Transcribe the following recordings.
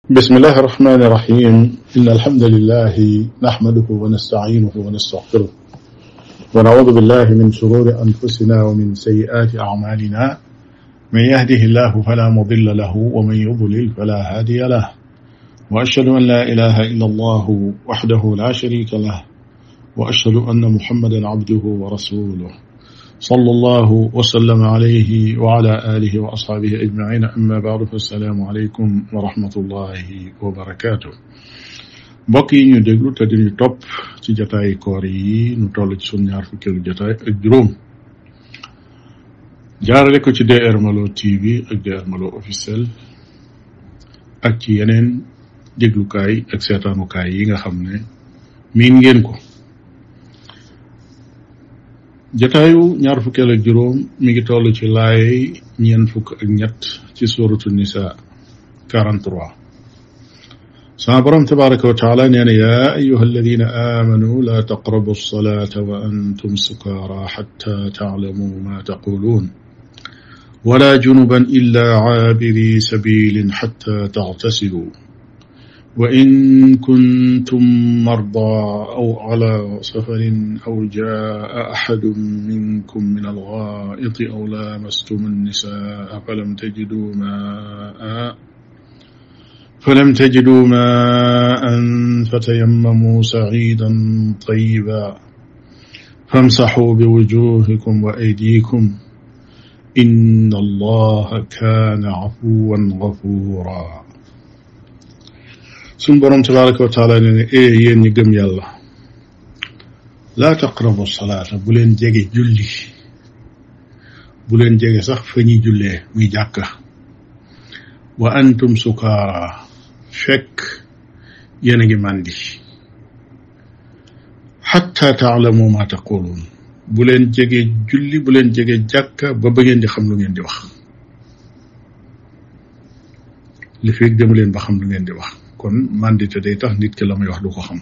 بسم الله الرحمن الرحيم إن الحمد لله نحمده ونستعينه ونستغفره ونعوذ بالله من شرور أنفسنا ومن سيئات أعمالنا من يهده الله فلا مضل له ومن يضلل فلا هادي له وأشهد أن لا إله إلا الله وحده لا شريك له وأشهد أن محمدا عبده ورسوله صلى الله وسلم عليه وعلى آله وأصحابه أجمعين أما بعد فالسلام عليكم ورحمة الله وبركاته mbokk yi ñu déglu te diñu topp ci jataay koor yi nu toll ci sunu ñaar fukkeelu jataay ak juróom jaarale ko ci DR Malo TV ak DR Malo officiel ak ci yeneen déglukaay ak seetaanukaay yi nga xam ne miin ngeen ko jataayu ñaar fukkeel ak juróom mi ngi toll ci laay ñeent fukk ak ñett ci suuratu nisa 43 sama borom tabaraka wa taala nee na yaa ayuha alladina amanu la taqrabu alsalata wa antum sukara xatta taalamu ma taquluun wala junuban illa caabiri sabilin xatta tagtasilu وإن كنتم مرضى أو على سفر أو جاء أحد منكم من الغائط أو لامستم النساء فلم تجدوا ماء فتيمموا سعيدا طيبا فامسحوا بوجوهكم وأيديكم إن الله كان عفوا غفورا suñ borom tabaraka wa taala ne yéen ñi gëm yàlla laa taqrabu salaata bu leen jege julli bu leen jege sax fa ñuy jullee muy jàkka wa antum sukaara fekk yéen a ngi màndi xatta taalamu ma taquluun bu leen jege julli bu leen jege jàkka ba ngeen di xam lu ngeen di wax li fekk demu leen ba xam lu ngeen di wax kon mandité day tax nit ki la muy wax du ko xam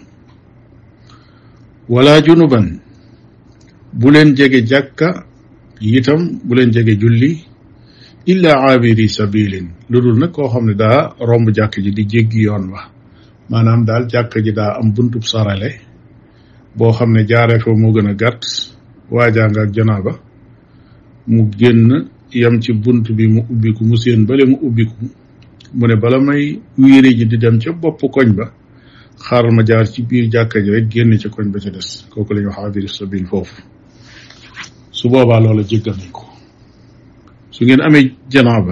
wala junuban bu leen jege jàkka itam bu leen jege julli illa aabiri sabilin lu dul nag koo xam ne daa romb jàkk ji di jéggi yoon wa maanaam daal jàkk ji daa am buntub sarale boo xam ne jaaree fa moo gën a gàtt waajaanga ak janaaba mu génn yam ci bunt bi mu ubbiku mu seen bale mu ubbiku mu ne bala may wiiri ji di dem ca bopp koñ ba xaaral ma jaar ci biir jàkka ji rek génn ca koñ ba ca des kooku la ñuy wax abiri sabil foofu su boobaa loola jéggal nañ ko su ngeen amee janaaba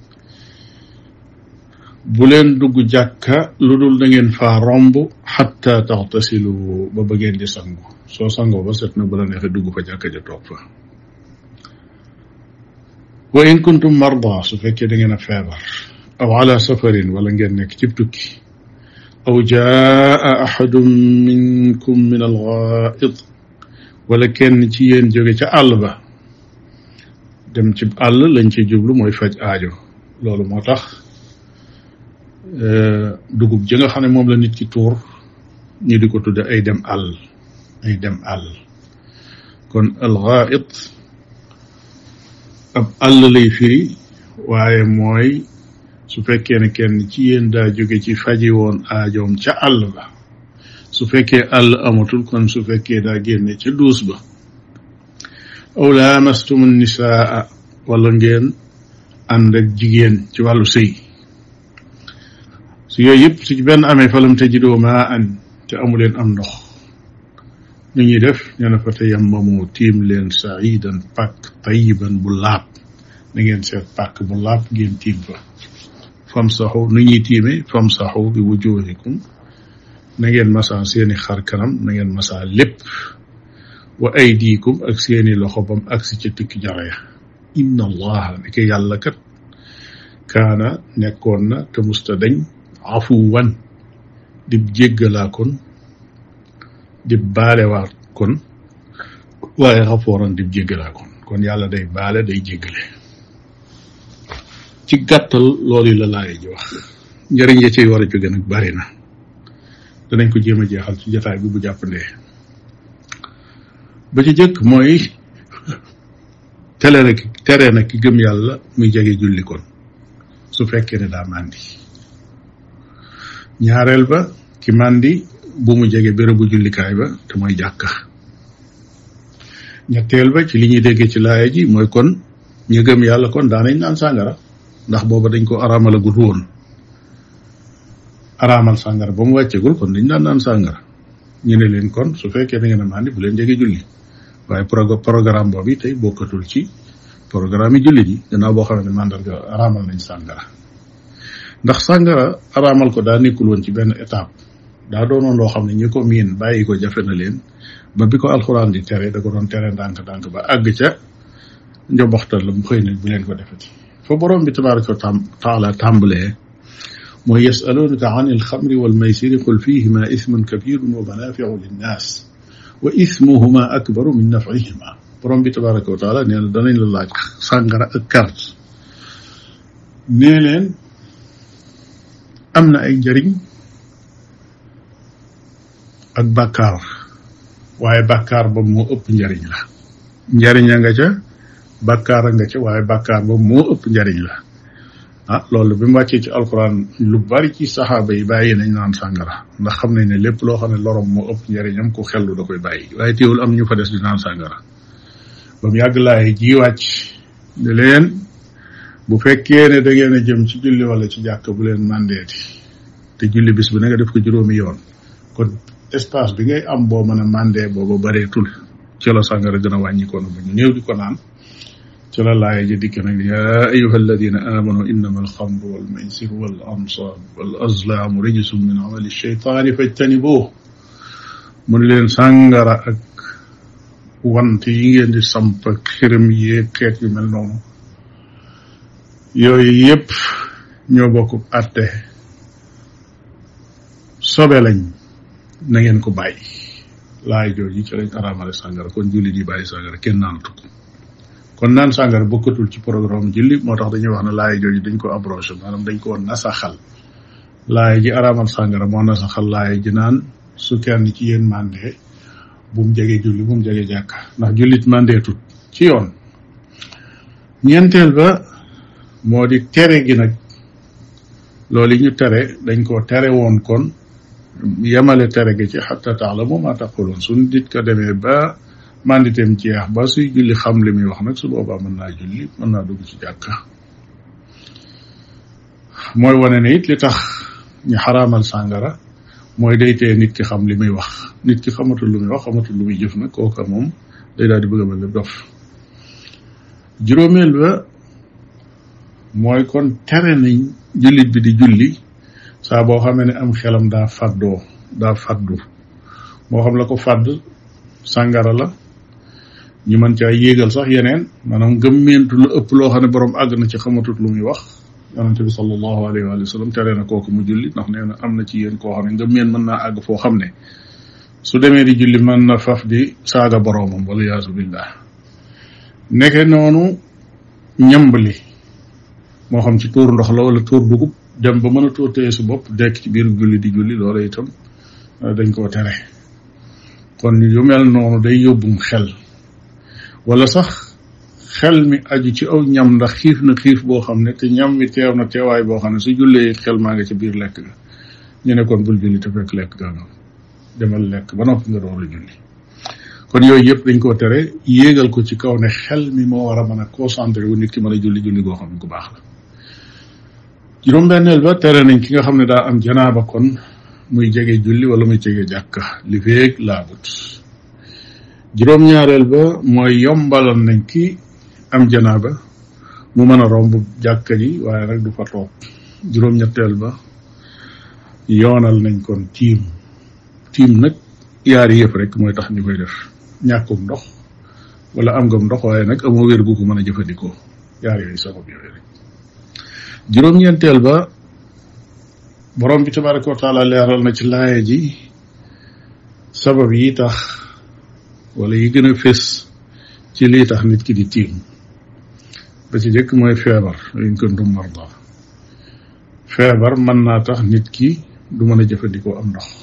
bu leen dugg jàkka lu dul da ngeen faa romb xatta taxtasilu ba ngeen di sangu soo sangoo ba set na bu la neexee dugg fa jàkka ja toog fa wa in kuntum marda su fekkee da ngeen a feebar aw ala safarin wala ngeen nekk ci tukki aw jaa ahadun minkum min alghaa'it wala kenn ci yéen jóge ca àll ba dem ci àll lañ ci jublu mooy faj aajo loolu moo tax dugub ji nga xam ne moom la nit ki tuur ñu di ko tudde ay dem àll kon alghaa'it ab àll lay firi waaye mooy su fekkee ne kenn ci yéen daa jóge ci faji woon aajoom ca àll ba su fekkee àll amatul kon su fekkee daa génne ca duus ba aw laamastum nisaa wala ngeen ànd ak jigéen ci wàllu sëy su yooyu yëpp su ci benn amee falam tajidoo maa an te amuleen am ndox nu ñuy def nee na fa tayammamu tiim leen saidan pàkk tayiban bu laab na ngeen seet pàkk bu laab ngeen tiim fa famsaxu nu ñuy tiime famsaxu bi wujuhikum na ngeen masaa seeni xar kanam na ngeen masaa lépp wa aydikum ak seeni loxo bam agsi ca tikki jaraya inna allaha ni ko yàlla kat kaana nekkoon na te musta dañ afuwan dib jéggalaa kon dib baalewaat kon waaye xafooran dib jéggalaa kon yàlla day baale day jéggale ci gàttal loolu la laay ji wax njëriñ ya ciy war a jóge nag bari na danañ ko jéem a jeexal ci jotaay bi bu jàppandee ba ci jëkk mooy tere na ki gëm yàlla muy jege julli kon su fekkee ne daa màndi ñaareel ba ki màndi bu mu jege bérébu jullikaay ba te mooy jàkka. ñetteel ba ci li ñuy déggee ci laaya ji mooy kon ñu gëm yàlla kon daanañ naan sàngara ndax booba dañ ko araamalagut woon. araamal sàngara ba mu wàccegul kon dañ daan naan sàngara. ñu ne leen kon su fekkee da ngeen a màndi bu leen jege julli waaye programme boobu tey bokkatul ci programme yi jullit yi gannaaw boo xam ne mandarga araamal nañ sàngara. ndax sàngara araamal ko daa nekkul woon ci benn étape daa doonoon loo xam ne ñi ko miin bàyyi ko jafe na leen ba bi ko alxuraan di tere da ko doon tere ndànk-ndànk ba àgg ca njoboxtal la mu xëy na bu leen ko defati. fa borom bi tabaraka wa taala tàmbalee mooy yasalunaka an alxamri walmaysiri qul fihima ismun kabirun wa manafiu linnas wa ismuhuma akbaru min nafihima. borom bi tabaraka wa taala nee na danañ la laaj sàngara ak carte nee leen am na ay njëriñ ak bàkkaar waaye bàkkaar ba moo ëpp njëriñ la. njëriñ a nga ca bàkkaar a nga ca waaye bàkkaar ba moo ëpp njëriñ la. loolu bi mu wàccee ci alquran lu bari ci saxaaba yi bàyyi nañ naan sàngara ndax xam nañ ne lépp loo xam ne lorom moo ëpp njëriñam ku xellu da koy bàyyi waaye teewul am ñu fa des di naan sàngara. ba mu yàgg laay ji wàcc ne leen bu fekkee ne da ngeen a jëm ci julli wala ci jàkk bu leen màndeeti te julli bis bu ne nga def ko juróomi yoon kon espace bi ngay am boo mën a màndee booba bareetul ci la sàngara gën a wàññikoon ba ñu néew di ko naan ci la laaya ji dikk nag yaa ayuha alladina amanu innama alxamru walmaysiru wal ansab wal azlaamu rijsum min amali sheytaani fajtanibuuh mu ne leen sàngara ak wante yi ngeen di samp ak xërëm yeeg xeet yu mel noonu yooyu yëpp ñoo bokk àtte sobe lañ na ngeen ko bàyyi. laay jooju ci lañ araamale sàngara kon julli di bàyyi sàngara kenn naanatu ko kon naan sàngara bokkatul ci programme julli moo tax dañuy wax ne laay jooju dañ ko abrogé maanaam dañ ko nasaxal. laay ji araamal sàngara moo nasaxal laay ji naan su kenn ci yéen màndee bu mu jege julli bu mu jege jàkka ndax jullit màndeetut ci yoon. ñeenteel ba moo di tere gi nag loolu yi ñu tere dañ koo tere woon kon yemale tere gi ci xatta taalamu ma taquluun su nit ko demee ba manditeem jeex ba suy julli xam li muy wax nag su boobaa mën naa julli mën naa dugg ci jàkka. mooy wane ne it li tax ñu xaraamal sàngara mooy day tee nit ki xam li muy wax nit ki xamatul lu muy wax xamatul lu muy jëf nag kooka moom day daal di bëgg a mel ni dof. juróomeel ba mooy kon tere nañ jullit bi di julli saa boo xamee ne am xelam daa faddu moo xam la ko fàdd sàngara la ñu mën caa yéegal sax yeneen maanaam gëmmeentu lu ëpp loo xam ne borom àgg na ci xamatut lu muy wax. yonente bi sallallahu alayhi wa sallam tere na kooku mu julli ndax nee na am na ci yéen koo xam ne ngëmmeen mën naa àgg foo xam ne su demee di julli mën na faf di saaga boroomam wala yaasu billah. nekke noonu ñambali moo xam ci tuur ndox la wala tuur dugub dem ba mën a tuur téye su bopp dekk ci biir julli di julli loola itam dañ koo tere. kon yu mel noonu day yóbbum xel wala sax xel mi aju ci aw ñam ndax xiif na xiif boo xam ne te ñam mi teew na teewaay boo xam ne su jullee xel maa nga ci biir lekk ga ñu ne kon bul julli te fekk lekk ga nga demal lekk ba noppi nga door a julli. kon yooyu yëpp dañ koo tere yéegal ko ci kaw ne xel mi moo war a mën a concentré wu nit ki mën a julli julli goo xam ne ku baax la. juróom-benneel ba tere nañ ki nga xam ne daa am janaaba kon muy jege julli wala muy jege jàkka li feeg laabut. juróom-ñaareel ba mooy yombalal nañ ki am janaaba mu mën a romb jàkka ji waaye nag du fa toog. juróom-ñetteel ba yoonal nañ kon tiim nag yaari yëpp rek mooy tax ñu koy def ñàkkum ndox wala am ngam ndox waaye nag amoo wér gu ko mën a jëfandikoo yaar yooyu sabab yooyu rek. juróom-ñeenteel ba borom bi tabaraka wa taala leeral na ci laaya ji sabab yi tax wala yi gën a fés ci lii tax nit ki di tiim. ba ci jëkk mooy feebar in kuntum marda feebar mën naa tax nit ki du mën a jëfandikoo am ndox.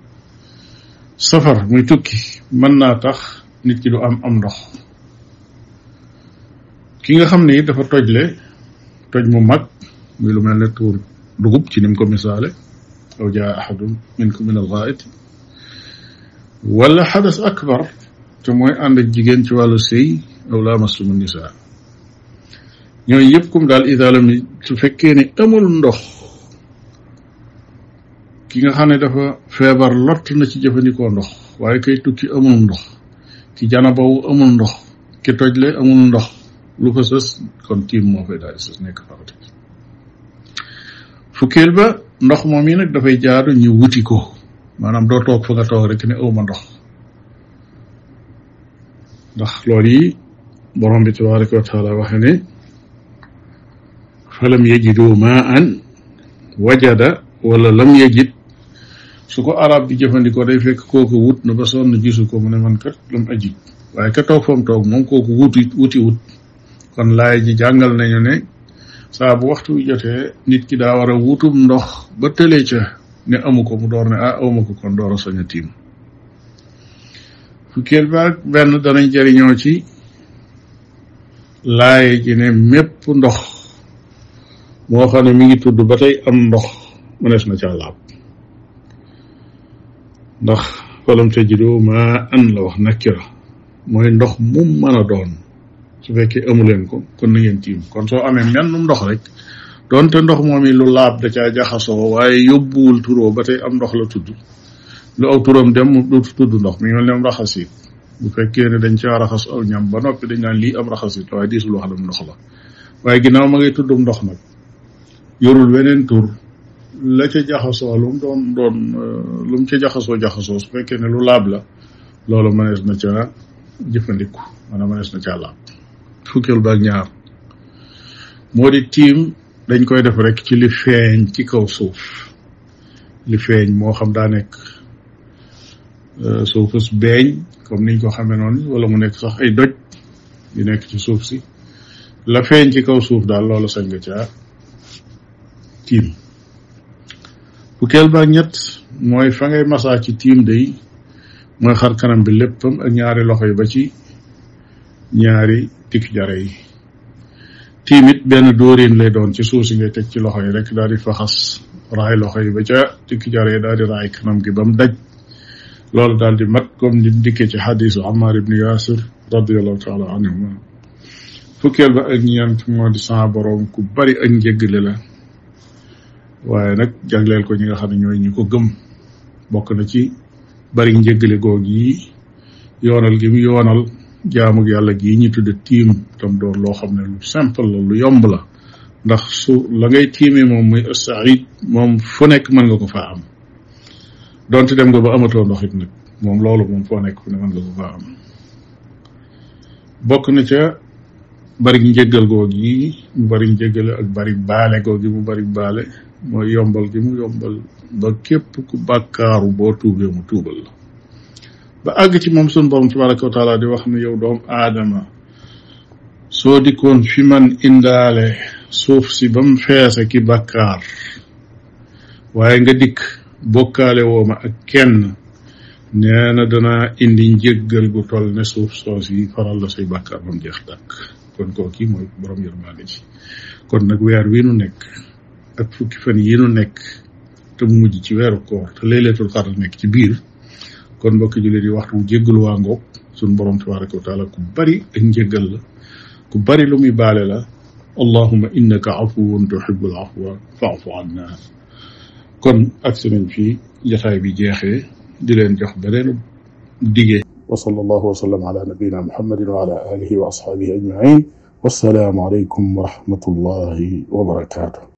safar muy tukki mën naa tax nit ki du am ndox. ki nga xam ne it dafa tojle toj mu mag muy lu mel ne tuur dugub ci ni mu ko misaale aw jaa ahadun minkum min al-ghaa'it wala xadas akbar te mooy ànd ak jigéen ci wàllu sëy aw laamastumu nisaa ñooñu yëpp comme daal ida lam su fekkee ne amul ndox ki nga xam ne dafa feebar lott na ci jëfandikoo ndox waaye kay tukki amul ndox ki janabawu amul ndox ki tojle amul ndox lu ko sës kon tiim moo fay daal di sës nekk farata fukkeel ba ndox moom yi nag dafay jaadu ñu wuti ko maanaam doo toog fa nga toog rek ne awma ndox ndax loolu yi borom bi tabaraka wa taala waxe ne falam yajidu maan wajada wala lam yajid su ko arab bi jëfandikoo day fekk kooku wut na ba sonn gisu ko mu ne man kat lam ajid waaye ka toog fa mu toog moom kooku wuti wut kon laay ji jàngal nañu ne saa bu waxtu wi jotee nit ki daa war a wutum ndox ba tëlee ca ne amu ko mu door ne awma ko kon door a sañ a tiim fukkeel ba ak benn danañ jëriñoo ci laay ji ne mépp ndox moo xam ne mi ngi tudd ba tey am ndox mënees na ca laab ndax falam tajidu maa an la wax nakira mooy ndox mum mën a doon su fekkee amuleen ko kon na ngeen tiim kon soo amee mennum ndox rek doonte ndox moom yi lu laab da caa jaxasoo waaye yóbbuwul turoo ba tey am ndox la tudd lu aw turam dem du tudd ndox mi ngi mel ne am raxasit bu fekkee ne dañ caa raxas aw ñam ba noppi dañ naan lii am raxasit waaye diisul wax lam ndox la waaye ginnaaw ma ngay tuddum ndox nag yorul weneen tur la ca jaxasoo lu mu ca jaxasoo su fekkee ne lu laab la loolu mënees na ca jëfandiku maanaam mënees na caa laab fukkeel ba ak ñaar moo di tiim dañ koy def rek ci li feeñ ci kaw suuf li feeñ moo xam daa nekk suufus beeñ comme niñ ko xamee noonu wala mu nekk sax ay doj yu nekk ci suuf si la feeñ ci kaw suuf daal loolu sañ nga caa tiim fukkeel ba ak ñett mooy fa ngay masaa ci tiim day mooy xar kanam bi léppam ak ñaari loxo yi ba ci ñaari tikk jare yi tiim it benn dóorin lay doon ci suuf si ngay teg ci loxo yi rek daal di faxas raay loxo yi ba ca tikk jare yi daal di raay kanam gi ba mu daj loolu daal di mat comme ni dikkee ci xadisu Ammar ibn Yasir radiallahu taala anhuma fukkeel ba ak ñeent moo di sa borom ku bari ak njëggale la waaye nag jagleel ko ñi nga xam ne ñooy ñi ko gëm bokk na ci bari njëggale goog yi yoonal gi mu yoonal jaamug yàlla gii ñu tudde tiim tam doon loo xam ne lu simple la lu yomb la ndax su la ngay tiimee moom muy as-sa'id moom fu nekk mën nga ko faa am donte dem nga ba amatoo ndox it nag moom loolu moom foo nekk fu ne mën nga ko faa am bokk na ca bari njëggal goog yi mu bari njëggale ak bari baale goog yi mu bari baale mooy yombal gi mu yombal ba képp ku bàkkaaru boo tuubee mu tuubal la ba àgg ci moom sun borom tabaraka wa taala di wax ne yow doom aadama soo dikkoon fi man indaale suuf si ba mu feese ki bàkkaar waaye nga dikk bokkaale woo ma ak kenn nee na danaa indi njëggal gu toll ne suuf soos yi faral la say bàkkaar ba mu jeex tàkk kon kooki mooy borom yërmaande ci kon nag weer wi nu nekk ak fukki fan yi nu nekk te mu mujj ci weeru koor te laylatul qadr nekk ci biir kon mbokki jullit yi waxtu jéggalu waa ngoog sun borom tabaraka wa taala ku bari ak njéggal la ku bari lu muy baale la allahumma innaka afuwun tuhibbul afwa fa'fu anna kon agsi nañ fii jotaay bi jeexee di leen jox beneen digee wa sallallahu wa sallam ala nabiyyina muhammadin wa ala alihi wa ashabihi ajma'in wassalaamu alaykum wa rahmatullahi wa barakatuh